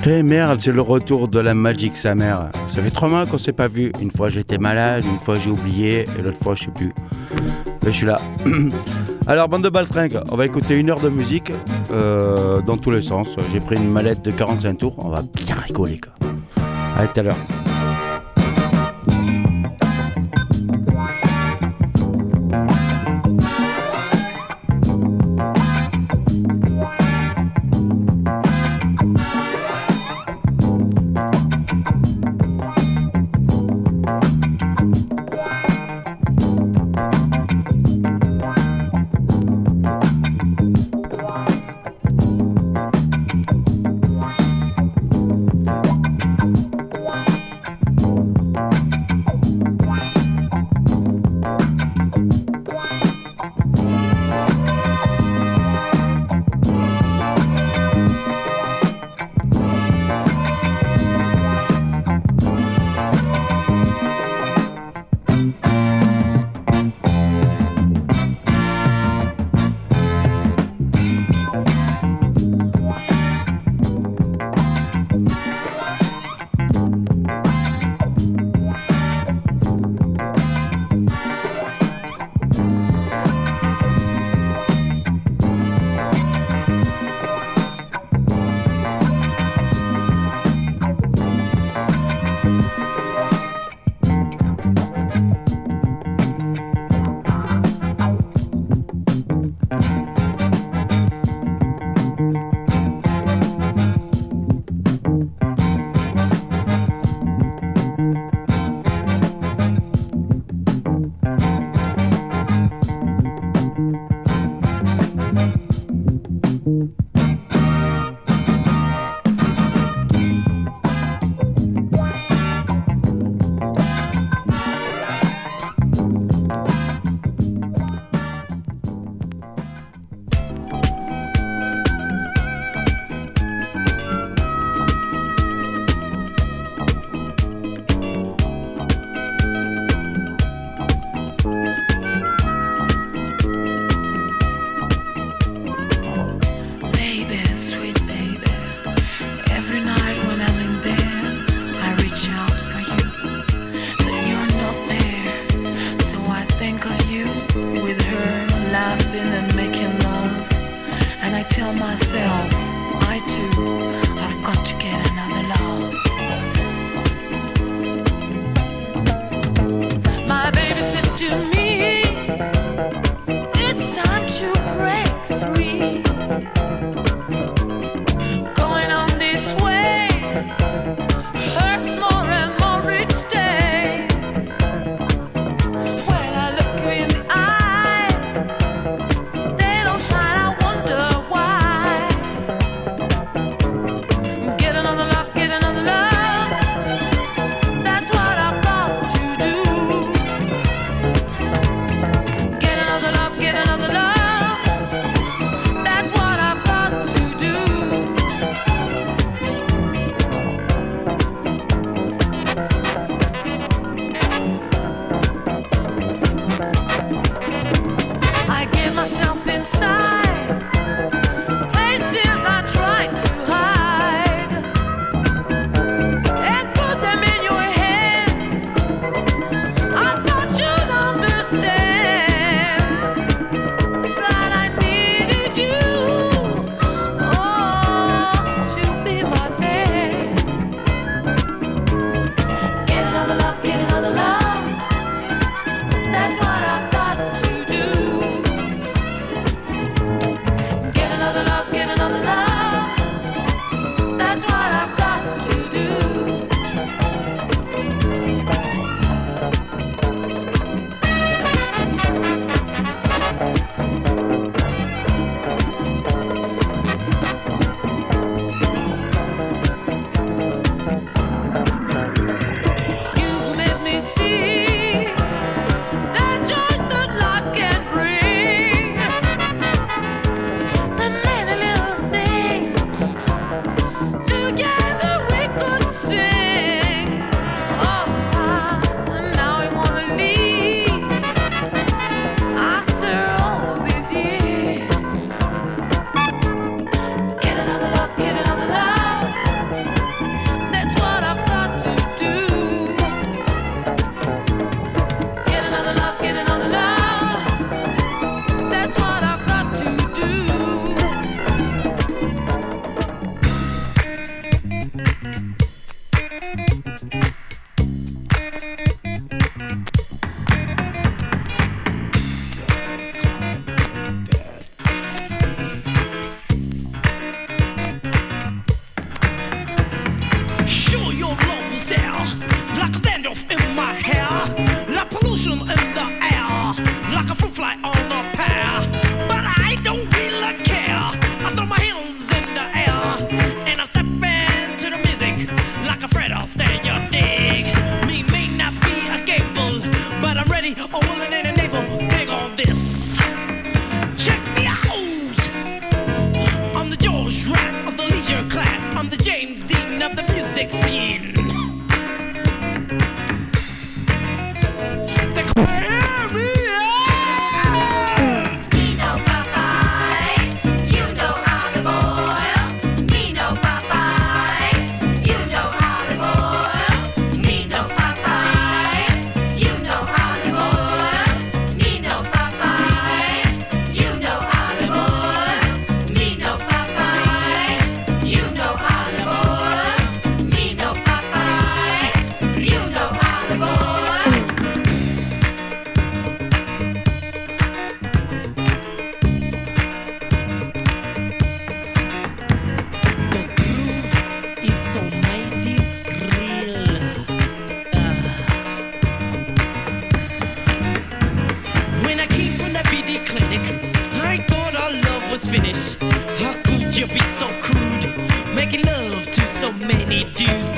Eh merde, c'est le retour de la Magic sa mère. Ça fait 3 mois qu'on s'est pas vu. Une fois j'étais malade, une fois j'ai oublié, et l'autre fois je sais plus. Mais je suis là. Alors bande de baltringues, on va écouter 1 heure de musique dans tous les sens. J'ai pris une mallette de 45 tours, on va bien rigoler quoi. Allez, tout à l'heure.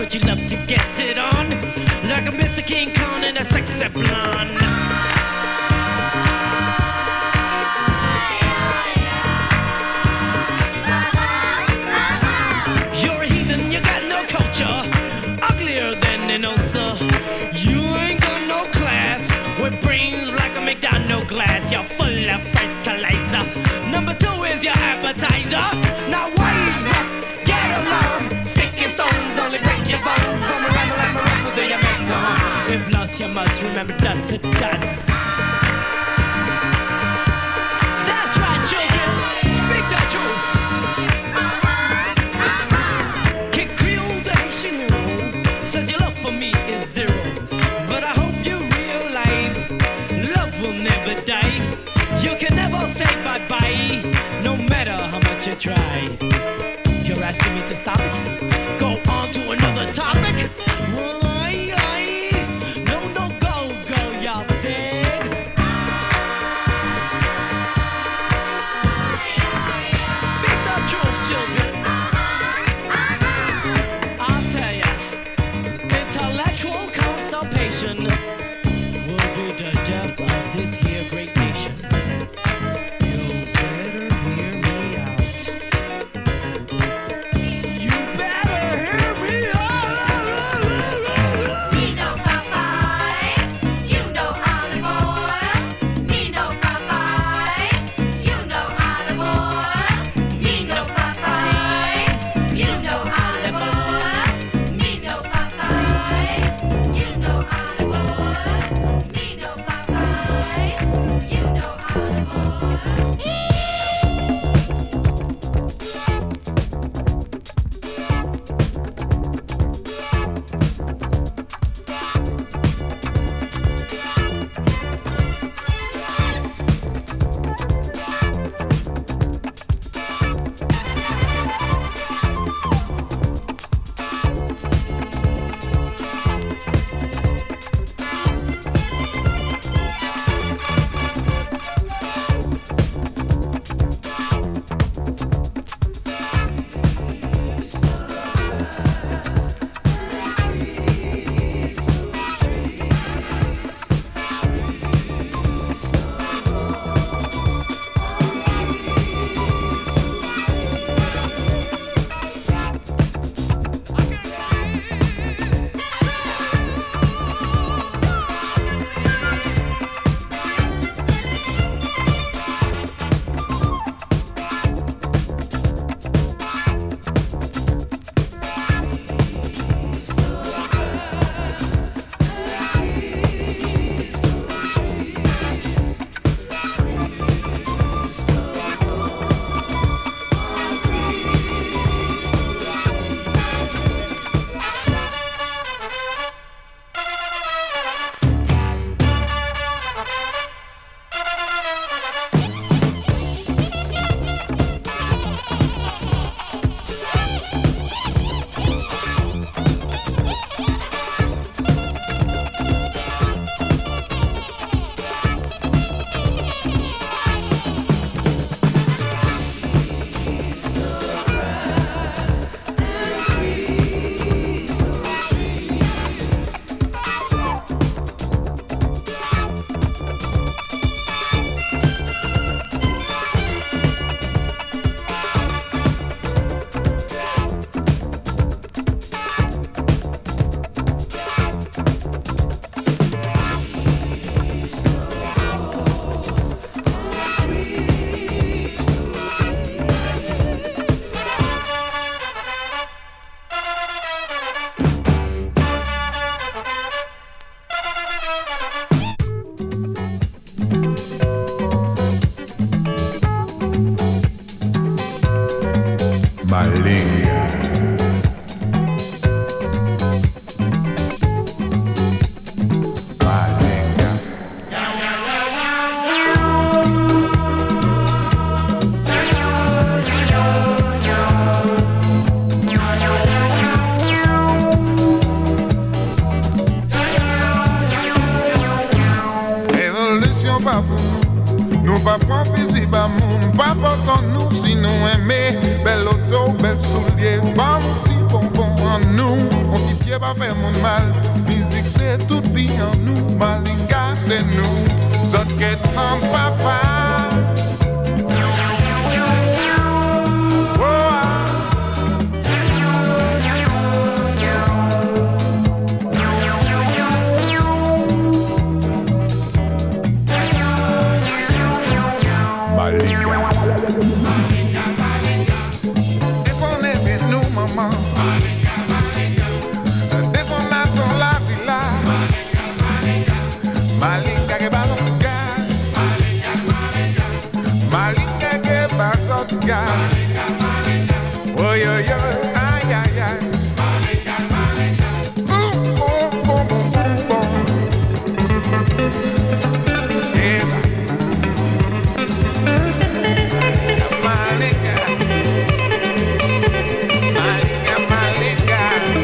would you love to get it on? Like a Mr. King Kong and a sexy blonde. You're a heathen, you got no culture, uglier than an ulcer. You ain't got no class, with brains like a McDonald's glass. You're full of fertilizer. Number 2 is your appetizer. Now wise up, get along. Sticky stones only break your bones. Come around with your mental. If lost, you must remember dust to dust. That's right, children. Speak the truth. Kid Creole, the Haitian hero, says your love for me is zero. But I hope you realize love will never die. You can never say bye-bye, no matter how much you try. You're asking me to stop it? Go on to another topic? Well, no, go, y'all dead. Speak the truth, children. I'll tell ya, intellectual constipation will be the death of this here great nation. You better hear me out. You better hear me out. Me no Popeye, you know olive oil. Me no Popeye, you know olive oil. Me no Popeye, you know olive oil. Me no Popeye, you know olive oil. Me no Popeye, you know olive oil. pa pou nou, nou pa pran pizi ba moun, pa potan nou si nou eme, bel auto, bel soulier, pa mouti bon, bon en nous. On s'y fiait pas faire mon mal. Musique c'est tout bien en nous. Malinga c'est nous. Zot que ton papa. Oh, yo, yo, ay, ay, ay. Boom, boom, boom, boom, boom, boom. Yeah. Malinga. Malinga, malinga.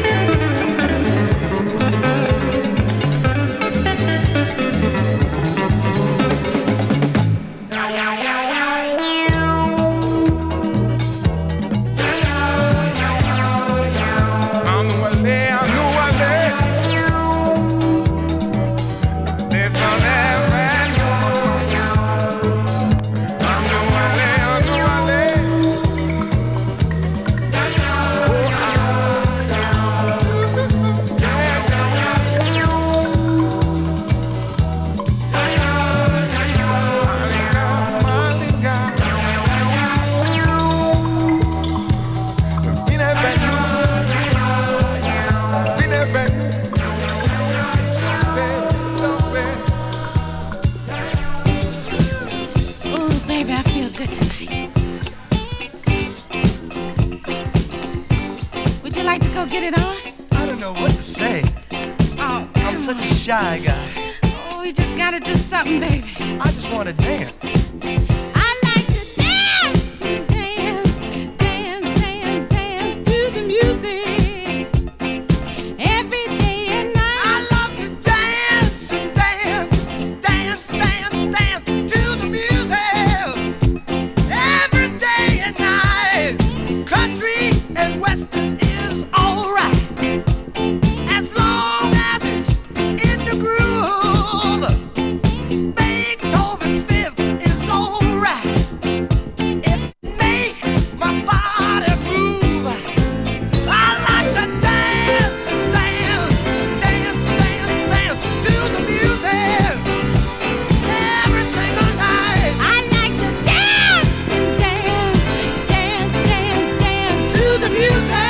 Shy guy. Oh, we just gotta do something, baby. I just wanna dance. I like to dance, dance, dance, dance, dance to the music. Every day and night. I love to dance, dance, dance, dance, dance to the music. Every day and night. Country and western is alright. As long as it's in the groove. Beethoven's Fifth is alright. It makes my body move. I like to dance, dance, dance, dance, dance to the music. Every single night. I like to dance, dance, dance, dance, dance to the music.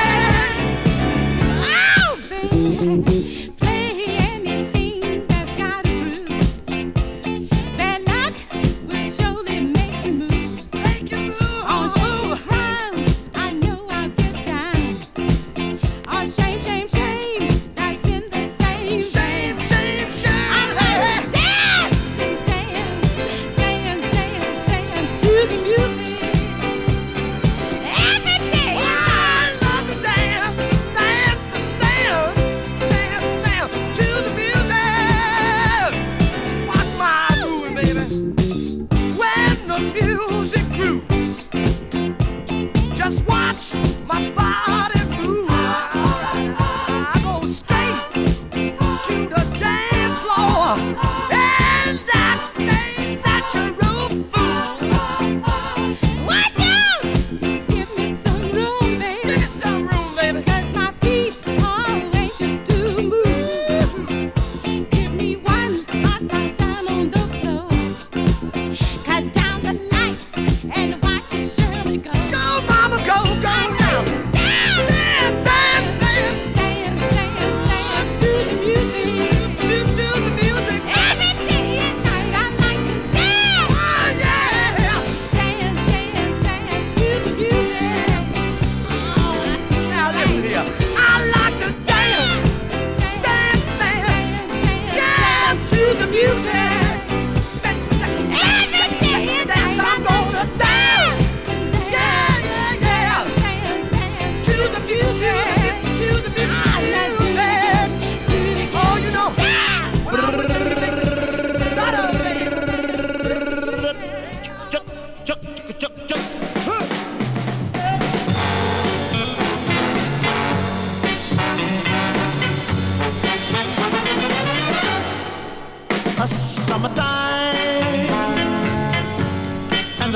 Oh, baby, play anything that's got a groove. Bad luck will surely make you move. Make you move. On shaky ground, I know I'll get down. On shame, shame, shame, that's in the same Shame, shame, shame. I like to dance and dance, dance, dance, dance to the music. Every day I love to dance, dance, dance, dance, dance to the music. Watch my moving, baby. When the music grooves, just watch my body move. I go straight to the dance floor, and that's the natural fool. watch out, give me some room, Give baby, me some room, baby. 'cause my feet are anxious to move. Give me one spot right down on the floor. Cut down the lights and watch it surely go. Go, mama, go, go I now. like to dance, Dance, dance, dance. dance, dance, dance to the music. To the music. Every day and night I like to dance, Oh, yeah. dance, dance, dance to the music. Now listen here. I like to dance, dance, dance, dance to the music. Every day and Dance, night I'm gonna dance.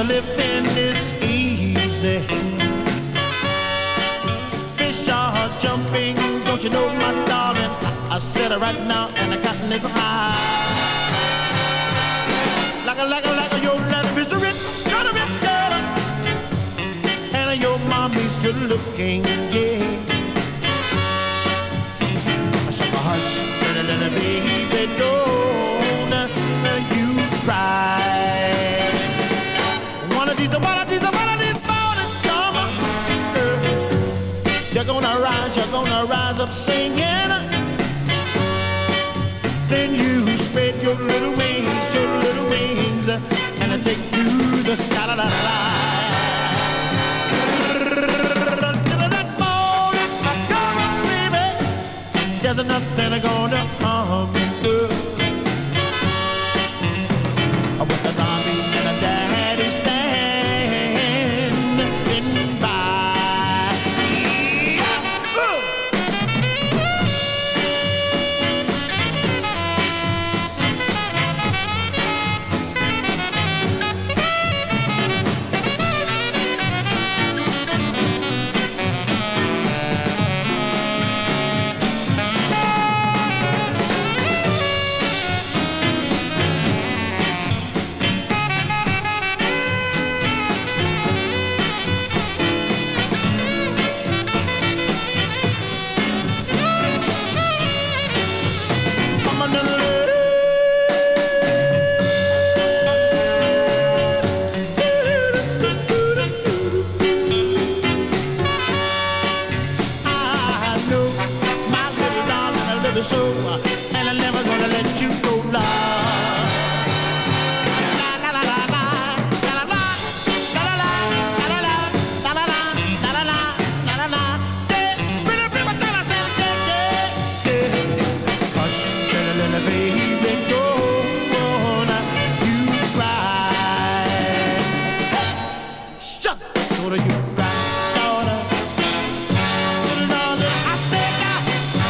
living is easy. Fish are jumping, don't you know, my darling? I said it right now, and the cotton is high. Like a, your life is rich, kind of rich girl, and your mommy's good looking, yeah. I said, hush, little baby, don't you cry. One of these mornings come, you're gonna rise up singing. Then you spread your little wings, and take to the sky. La, la, la. That morning, come on, baby. There's nothing gonna harm you. With the mommy and the daddy standing by. So, and I'm never gonna let you go, love. La la la la la, la la la la la la la la la la la la la la. Hush, little baby, don't you cry. Shut, don't you cry, daughter. Little daughter, I said now.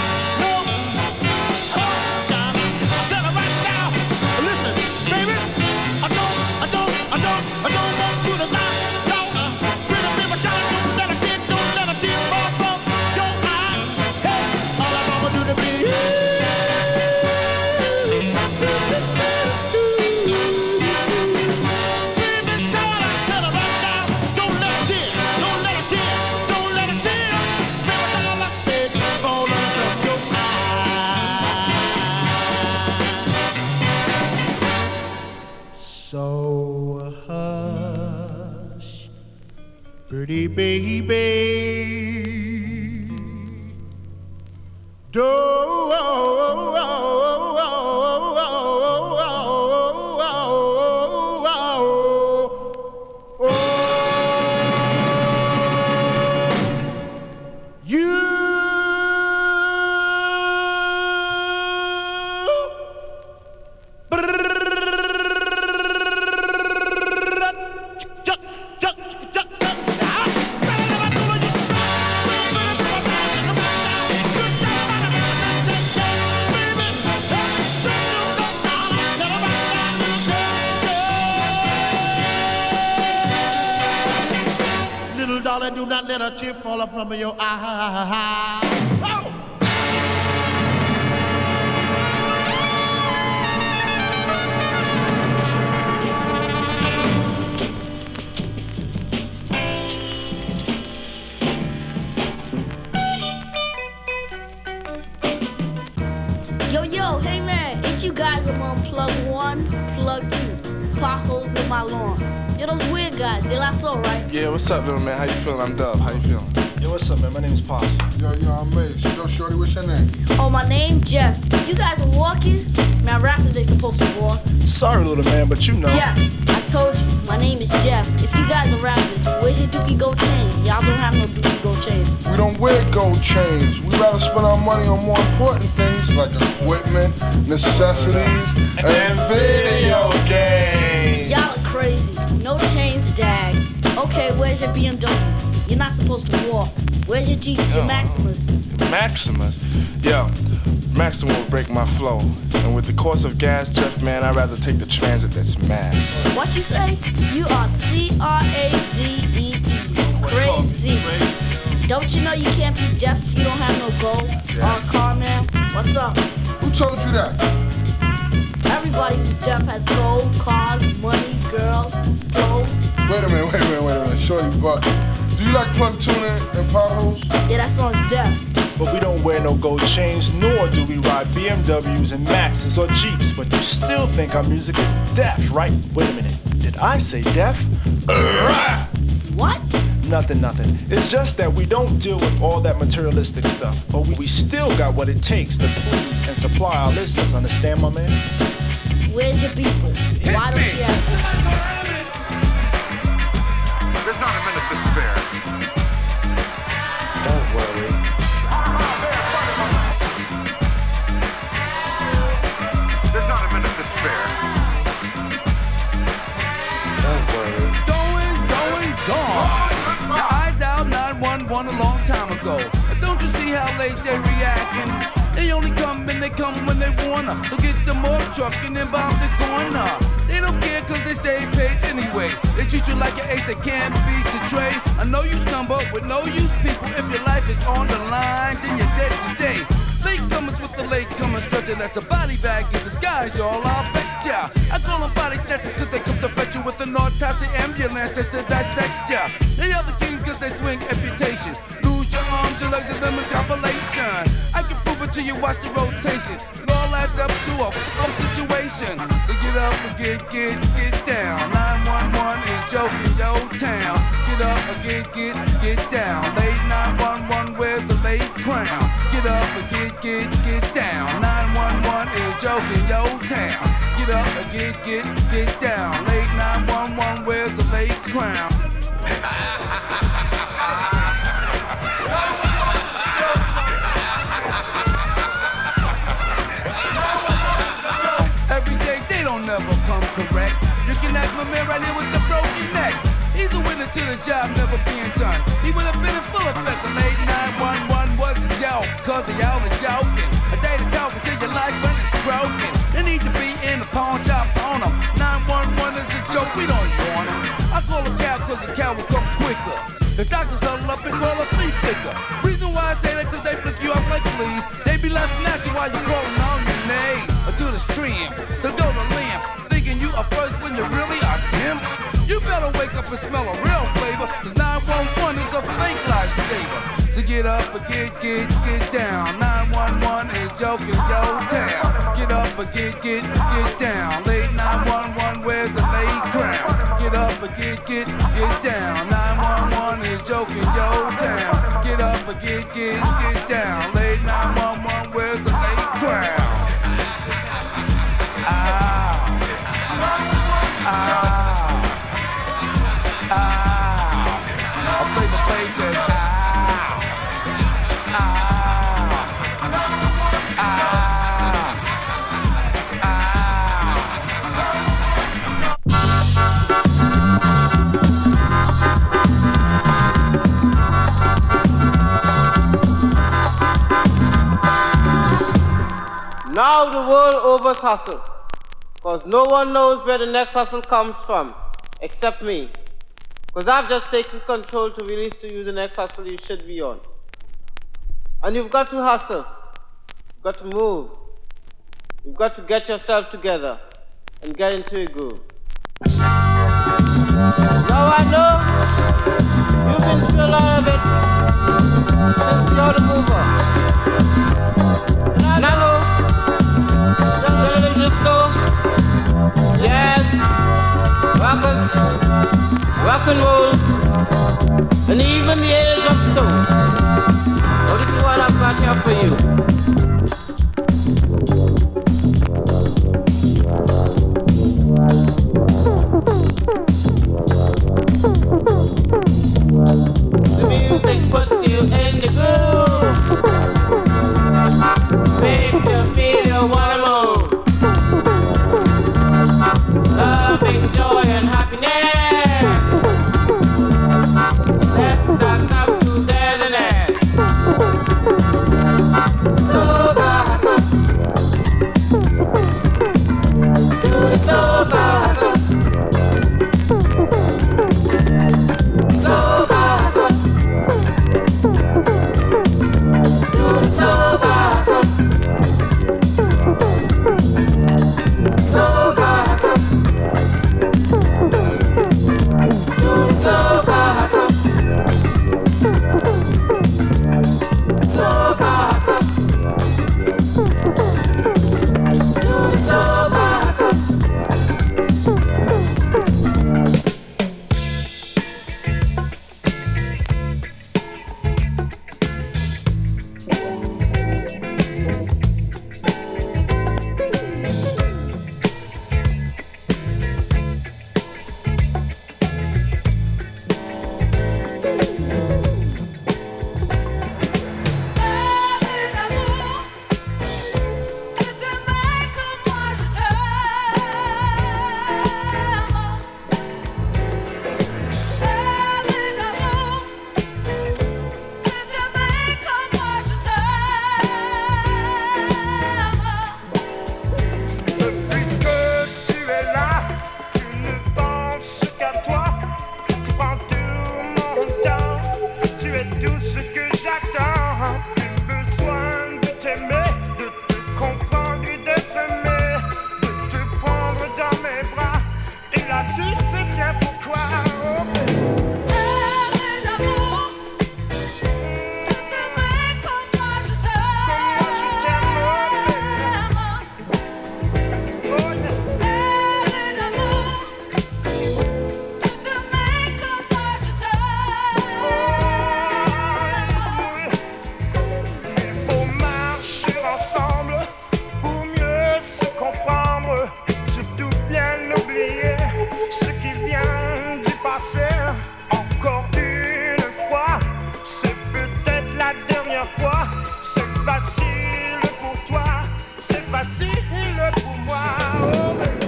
So hush, pretty baby, darling, do not let a tear fall from your eye. Oh! Yo, hey man, ain't you guys among plug 1, plug 2, potholes in my lawn? Yo, those weird guys, De La Soul, right? Yeah, what's up, little man? How you feeling? I'm Dub. How you feeling? Yo, what's up, man? My name is Pop. Yo, I'm Mace. Yo, shorty, what's your name? Oh, my name, Jeff. You guys are walking? Now, rappers ain't supposed to walk. Sorry, little man, but you know. Jeff, I told you, my name is Jeff. If you guys are rappers, where's your Dookie Gold chain? Y'all don't have no Dookie Gold chain. We don't wear gold chains. We rather spend our money on more important things like equipment, necessities, and video games. Y'all are crazy. No chains, dag. Okay, where's your BMW? You're not supposed to walk. Where's your Jeeps, your Maximus? Maximus? Yo, Maximum will break my flow. And with the cost of gas, Jeff, man, I'd rather take the transit that's mass. What you say? You are C-R-A-Z-E-E. Crazy. Don't you know you can't be deaf if you don't have no gold? Car man, what's up? Who told you that? Everybody who's deaf has gold, cars, money, girls, clothes. Wait a minute. Shorty buck. Do you like plug tuning and potholes? Yeah, that song's deaf. But we don't wear no gold chains, nor do we ride BMWs and Maxes or Jeeps. But you still think our music is deaf, right? Wait a minute. Did I say deaf? What? Nothing. It's just that we don't deal with all that materialistic stuff. But we still got what it takes to please and supply our listeners. Understand, my man? Where's your beepers? Why don't you have There's not a minute to spare. Don't worry. There's not a minute to spare. Don't worry. Going, gone. Now I dialed 911 a long time ago. Don't you see how late they're reacting? They only come and they come when they wanna. So get them off truck and then bomb the corner. They don't care cause they stay paid anyway. They treat you like an ace that can't beat the trade. I know you stumble with no use people. If your life is on the line, then you're dead today. Latecomers with the latecomer stretcher, that's a body bag in disguise, y'all, I'll bet ya. I call them body snatchers cause they come to fetch you with an autopsy ambulance just to dissect ya. They are the king cause they swing amputation. Lose your arms, your legs, and them is compilation. I can prove it to you, watch the rotation. It all adds up to a f***up situation. So get up and get down. 911 is joking, yo town. Get up and get down. Late 911, where's the late crown? Get up and get down. 911 is joking, yo town. Get up and get down. Late 911, where's the late crown? Every day they don't never come correct. You can ask my man right here with the broken neck. He's a witness to the job never being done. He would have been in full effect. The late 911 was a joke, cause they all are joking. A day to talk until your life when it's broken. They need to be in the pawn shop on them. 911 is a joke, we don't want it. I call a cow cause the cow will come quicker. The doctors huddle up and call a flea flicker. Reason why I say that cause they flick you off like fleas. They be laughing at you while you're crawling on your knees or to the stream. So go to limp, thinking you are first when you really are dim. You better wake up and smell a real flavor, cause 911 is a fake lifesaver. So get up and get down. 911 is joking, yo town. Get up and get down. Late 911, where's the late crown? Get up and get down. 911 is joking, yo town. Get up and get down. Late 911, where's the late crown? A flavor face says Now the world overs hustle, cause no one knows where the next hustle comes from, except me. Cause I've just taken control to release to you the next hustle you should be on. And you've got to hustle, you've got to move, you've got to get yourself together and get into a groove. Now I know you've been through a lot of it since you're the mover. And I know little disco, jazz, rockers, rock and roll, and even the age of soul. Well, this is what I've got here for you. The music puts you in the groove, makes you feel you wanna move. Loving joy and happiness. Let's start some togetherness. So myself, encore une fois, c'est peut-être la dernière fois. C'est facile pour toi, c'est facile pour moi. Oh, baby.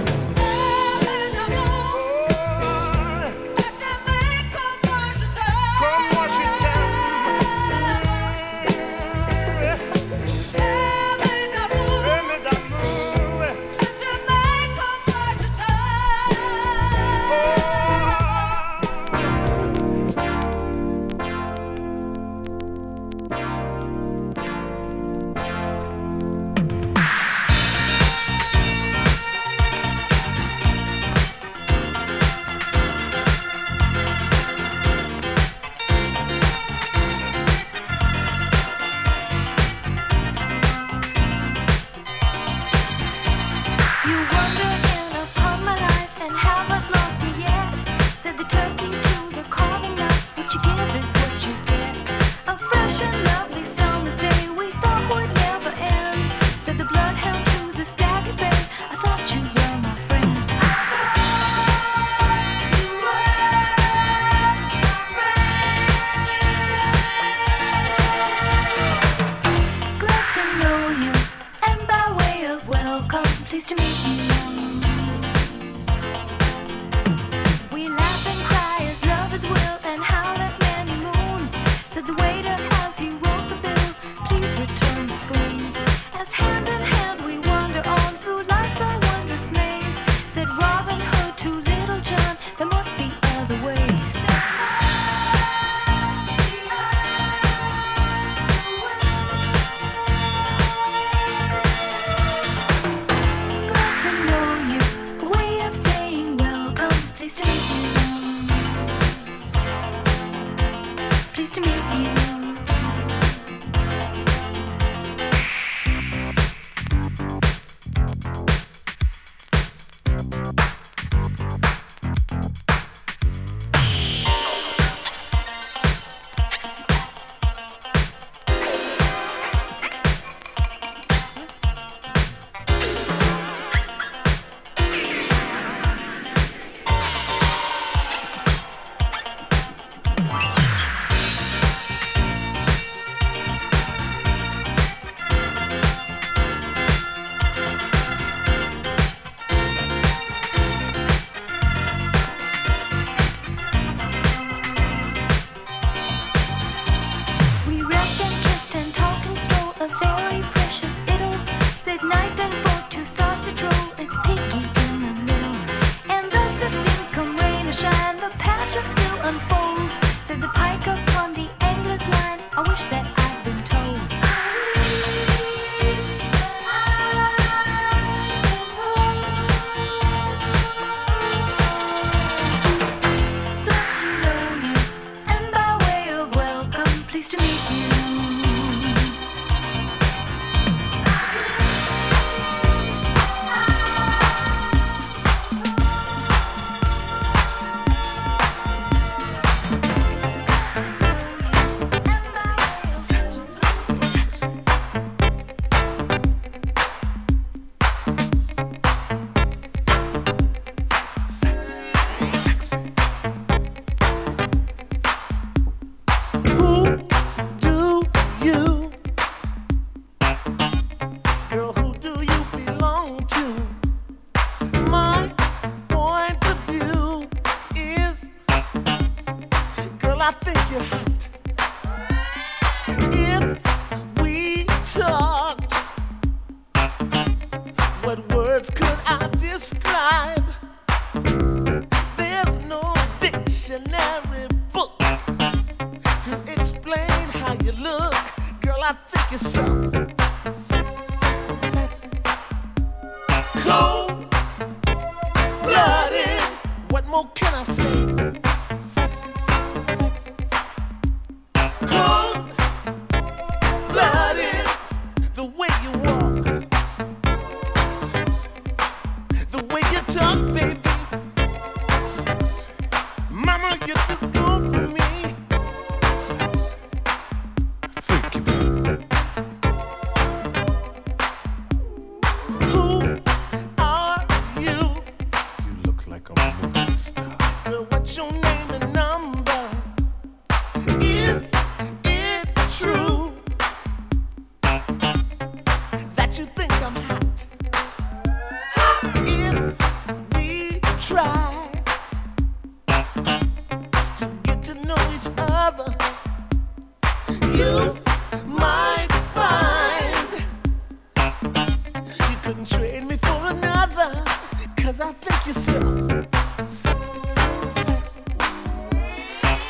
Who are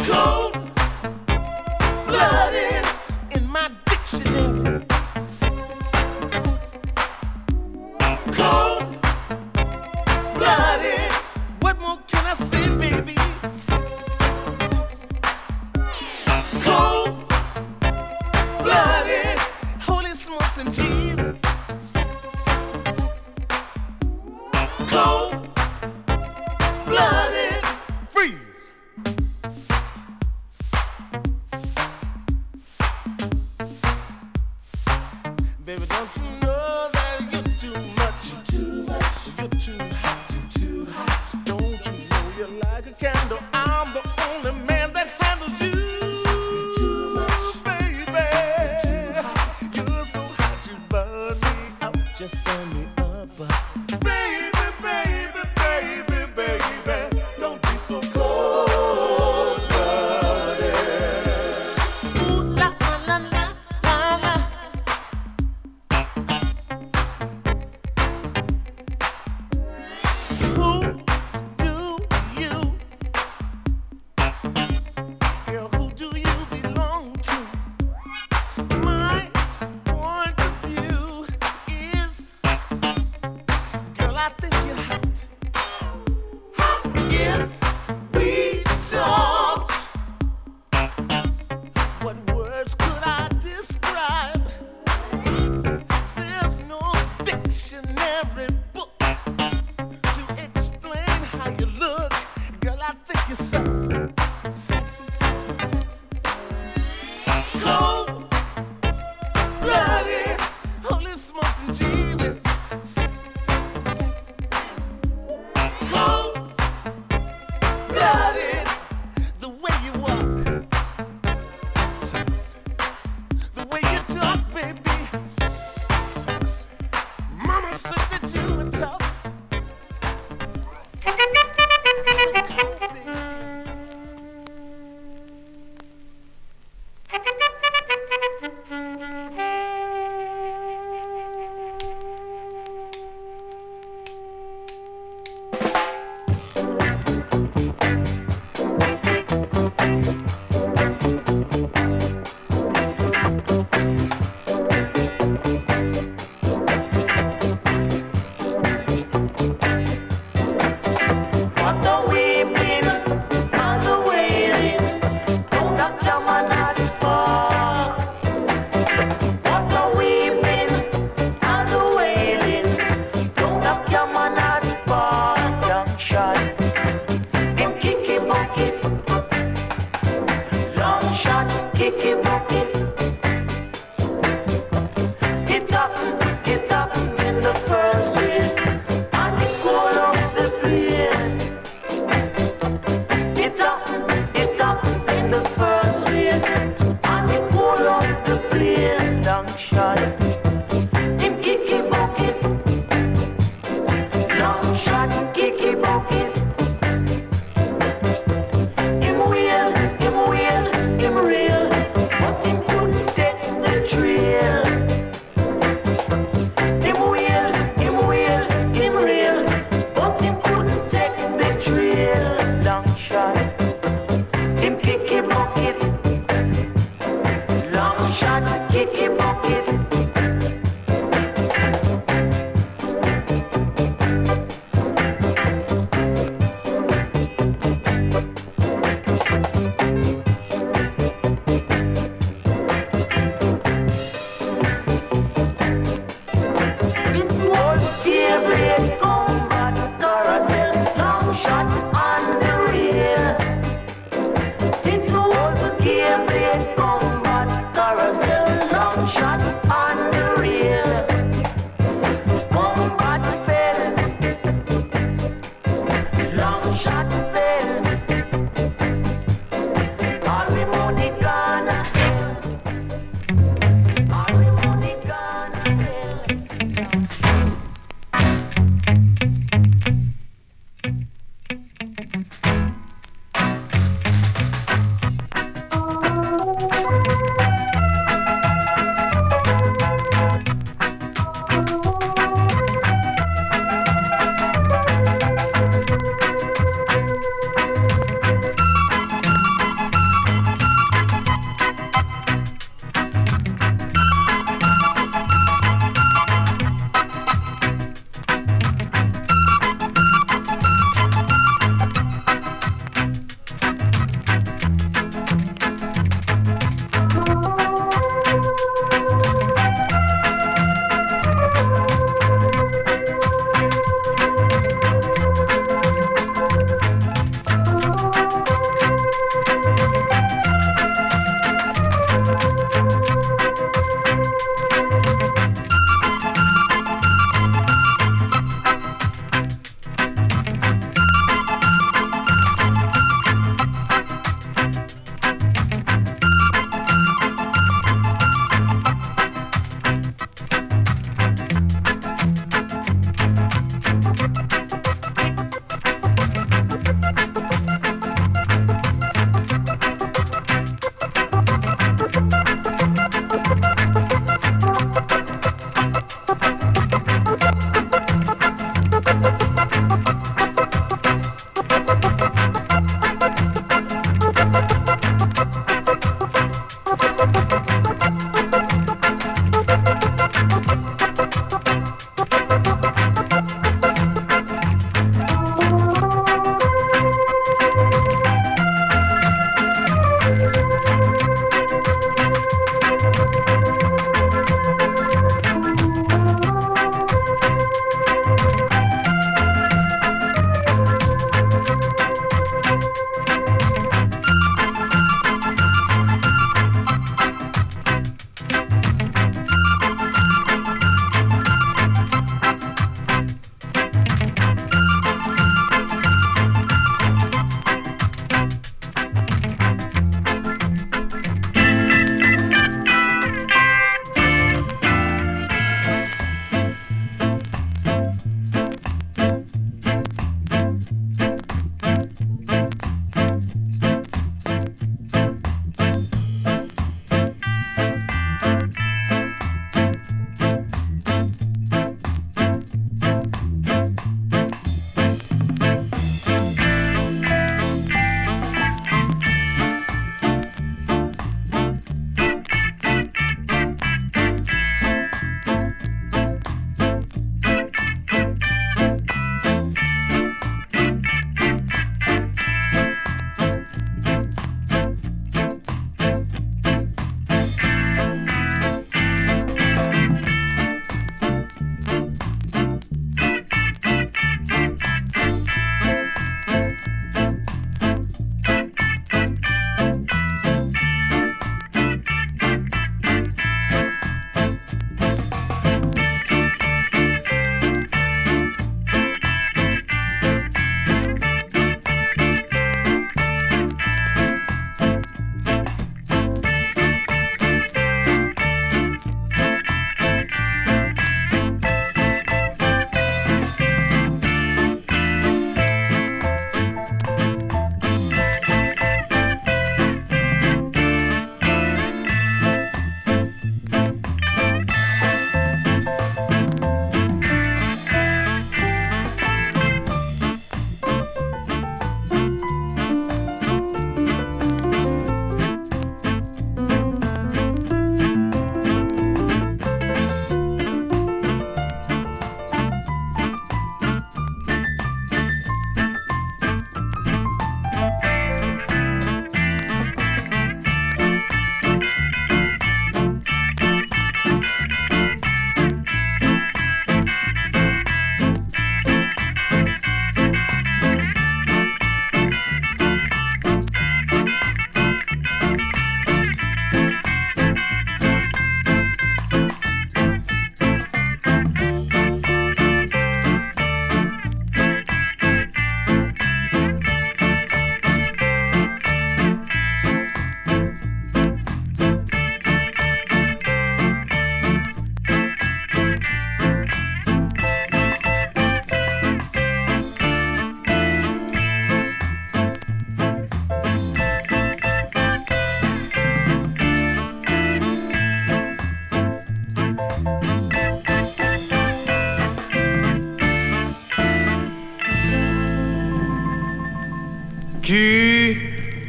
Cold-blooded in my dictionary. Sexy, sexy, sexy. Cold-blooded. What more can I say, baby? Sexy, sexy, sexy. Cold-blooded. Holy smokes and Jesus. Sexy, sexy, sexy. Cold-blooded. Freeze. Baby, don't you know that you're too much? You're too much. You're too hot. You're too hot. Don't you know you're like a candle? I'm the only man that handles you. You're too much, baby. You're too hot. You're so hot, you burn me out. Just burn me up. Baby, baby, baby, baby, don't be so cold-blooded. Ooh, la, la, la, la, la, la. Who do you, girl, who do you belong to? My point of view is, girl, I think you're hot. If we talked, what words could I describe? There's no dictionary book to explain how you look. Girl, I think you're so sexy, sexy, sexy. Cold-blooded, holy smokes and Jesus. Sexy, sexy, sexy. Cold-blooded, the way you walk. Sexy. The way you talk, baby. Sexy. Mama said that you were tough. What the weeping and the wailing, don't knock your man as far. What the weeping and the wailing, don't knock your man as far. Young shot, him kicky bucket. Long shot, kicky bucket. Get up in the first race, and it call up the place. Get up in the first race, and it call up the place. Long shot, him kicky bucket. Long shot, kicky bucket. Him real, but him couldn't take the trail. Him real, but him couldn't take the trail. Long shot,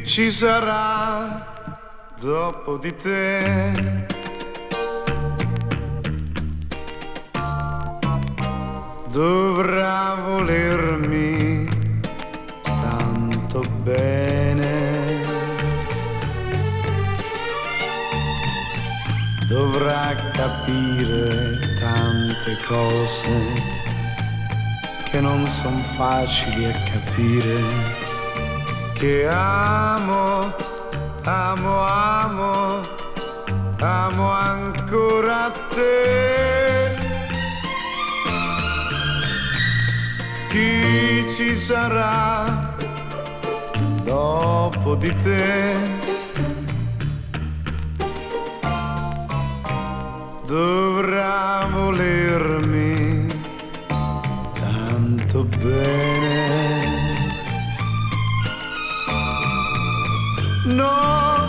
ci sarà dopo di te? Dovrà volermi tanto bene, dovrà capire tante cose che non son facili a capire, che amo, amo, amo, amo ancora te. Chi ci sarà dopo di te? Dovrà volermi tanto bene. No,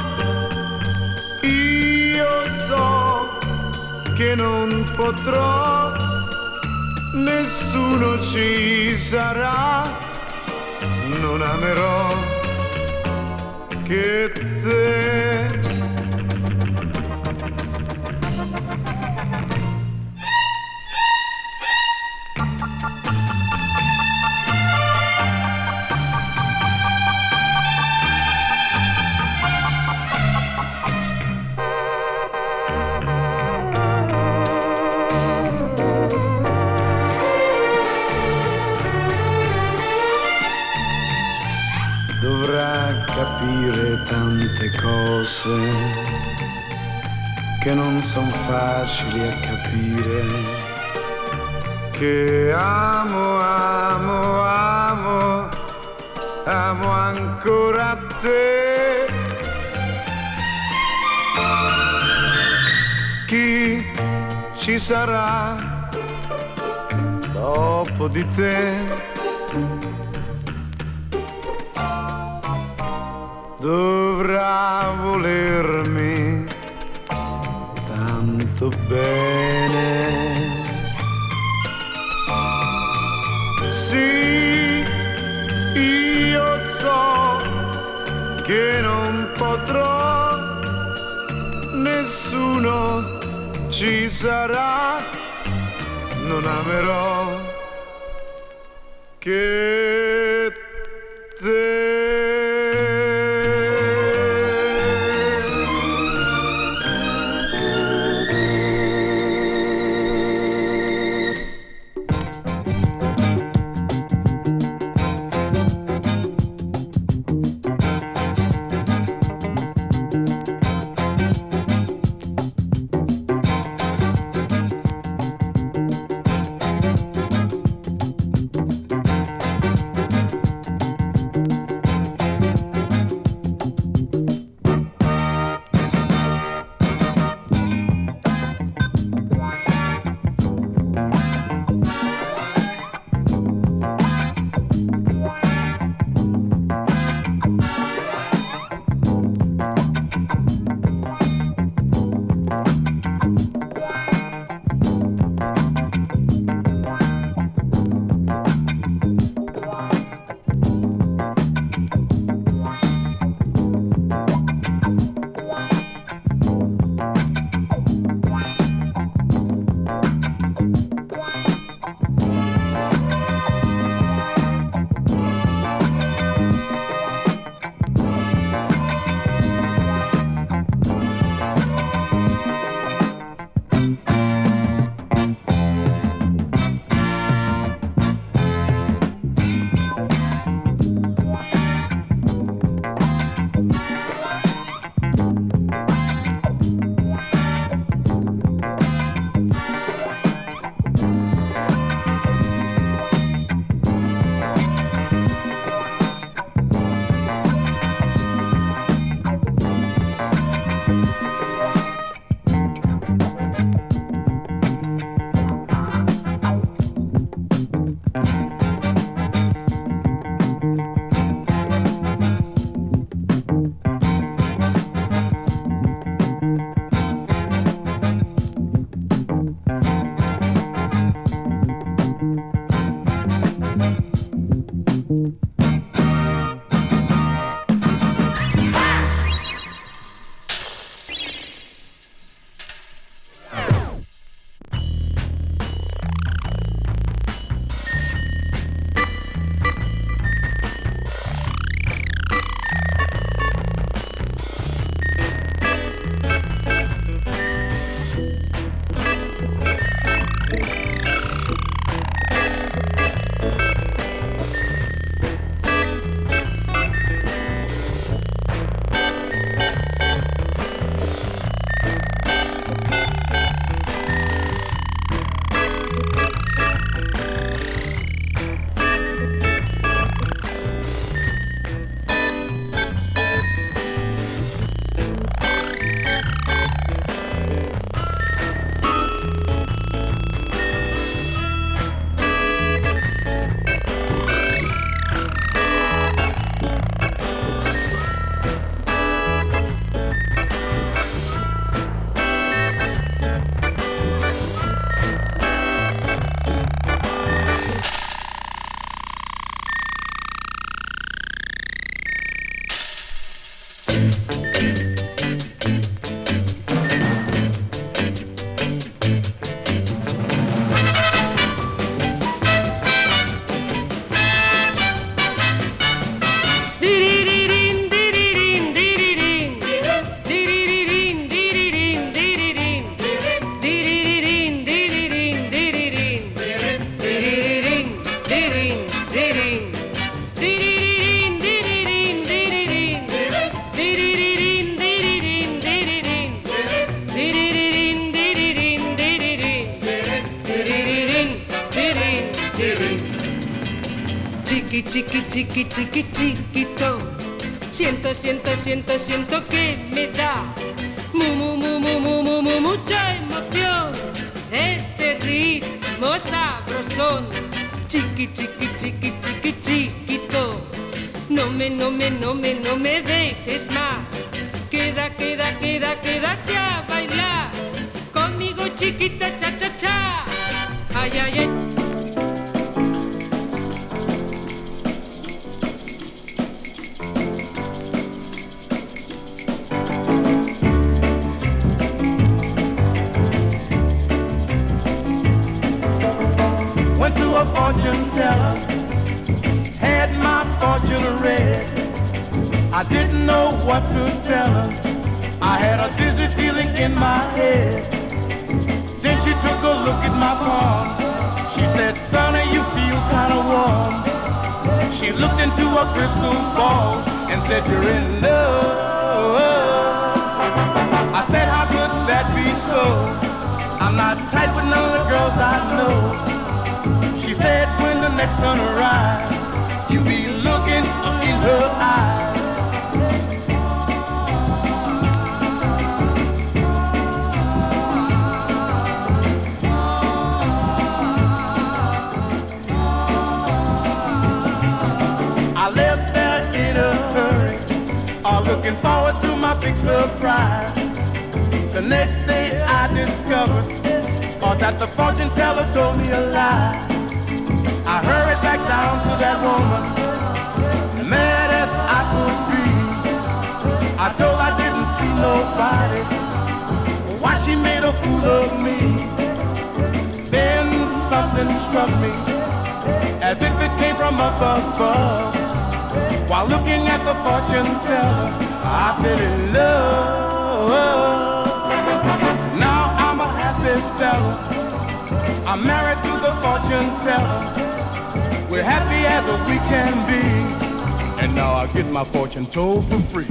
io so che non potrò, nessuno ci sarà, non amerò che te. Capire tante cose che non son facili a capire, che amo, amo, amo, amo ancora te. Chi ci sarà dopo di te? Dovrà volermi tanto bene. Sì, io so che non potrò, nessuno ci sarà, non amerò che te. chiquito. Siento que me da mucha emoción. Este ritmo sabrosón. Chiquito. No me dejes más. Quédate a bailar conmigo, chiquita, cha. Ay. Went to a fortune teller, had my fortune read. I didn't know what to tell her. I had a dizzy feeling in my head. Then she took a look at my palm. She said, "Sonny, you feel kinda warm." She looked into a crystal ball and said, "You're in love." I said, "How could that be so? I'm not tight with none of the girls I know." She said, "When the next sun arrives, you be looking in her eyes." I left there in a hurry, all looking forward to my big surprise. The next day I discovered that the fortune teller told me a lie. I hurried back down to that woman, mad as I could be. I told I didn't see nobody, why she made a fool of me. Then something struck me, as if it came from up above. While looking at the fortune teller, I fell in love. Now I'm a happy fella, I'm married to the fortune teller. We're happy as we can be, and now I get my fortune told for free.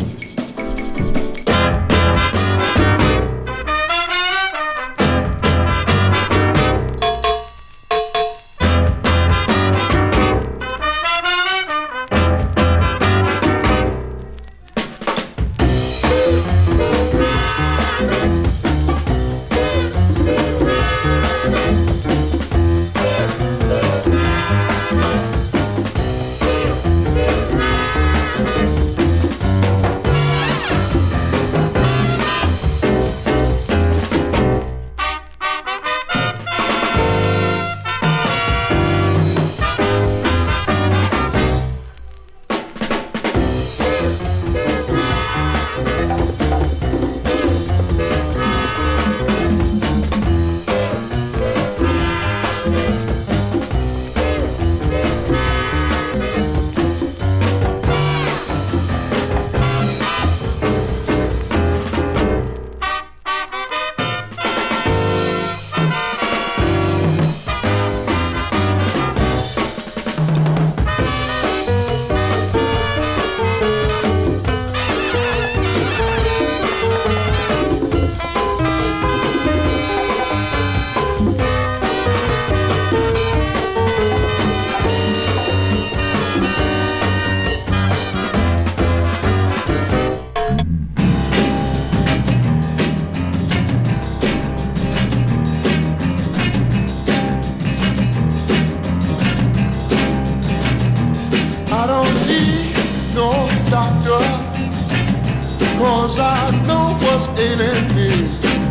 Cause I know what's ailing me.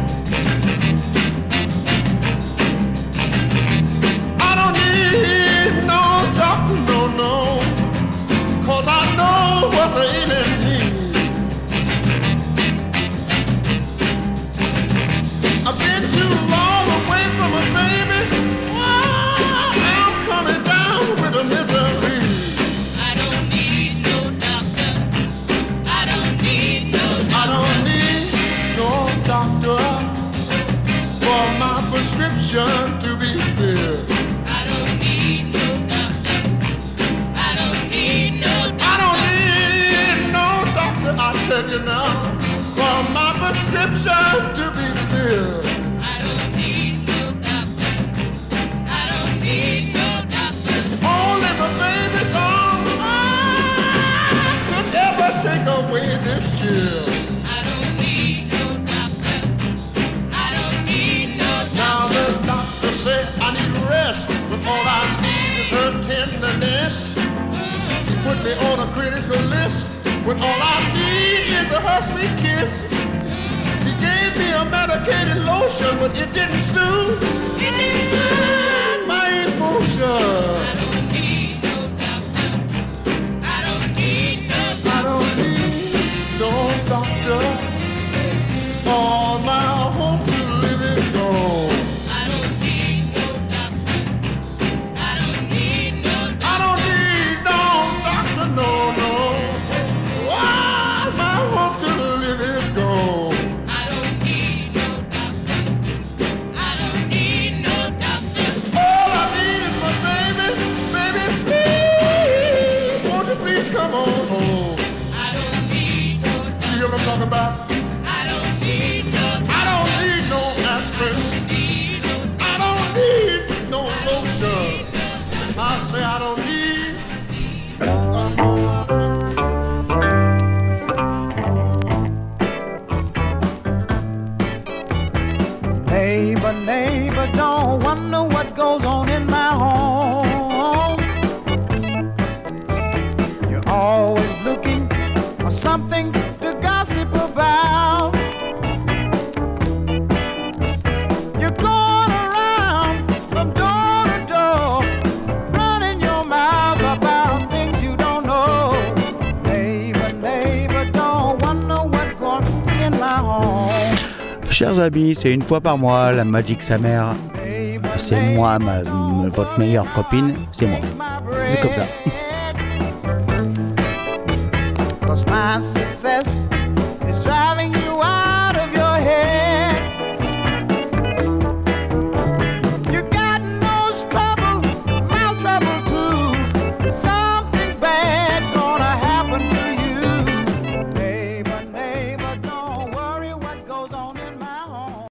I don't need no doctor, no. Cause I know what's ailing me. I've been too long away from a baby. I'm coming down with a misery. I don't need no doctor for my prescription to be filled. I don't need no doctor. I don't need no doctor, I tell you now, for my prescription to be filled. I don't need no doctor. I don't need no doctor. Only my baby's on chill. Now the doctor said I need rest, but all I need is her tenderness. He put me on a critical list, when all I need is her sweet kiss. He gave me a medicated lotion, but it didn't soothe my emotion. I don't need no doctor. All my hope to live is gone. I don't need no doctor, no, no. All my hope to live is gone. All I need is my baby, baby, please, won't you please come on home? You hear what I'm talking about? I don't need no aspirin. I don't need no lotion. I say I don't need. Neighbor, neighbor, don't wonder what goes on in my home. You're always looking for something to gossip about. You're going around from door to door, running your mouth about things you don't know. Neighbor, neighbor, don't wonder what goes on in my home. Chers amis, c'est une fois par mois, la Magic Summer. C'est moi, votre meilleure copine, c'est moi. C'est comme ça. 'Cause my success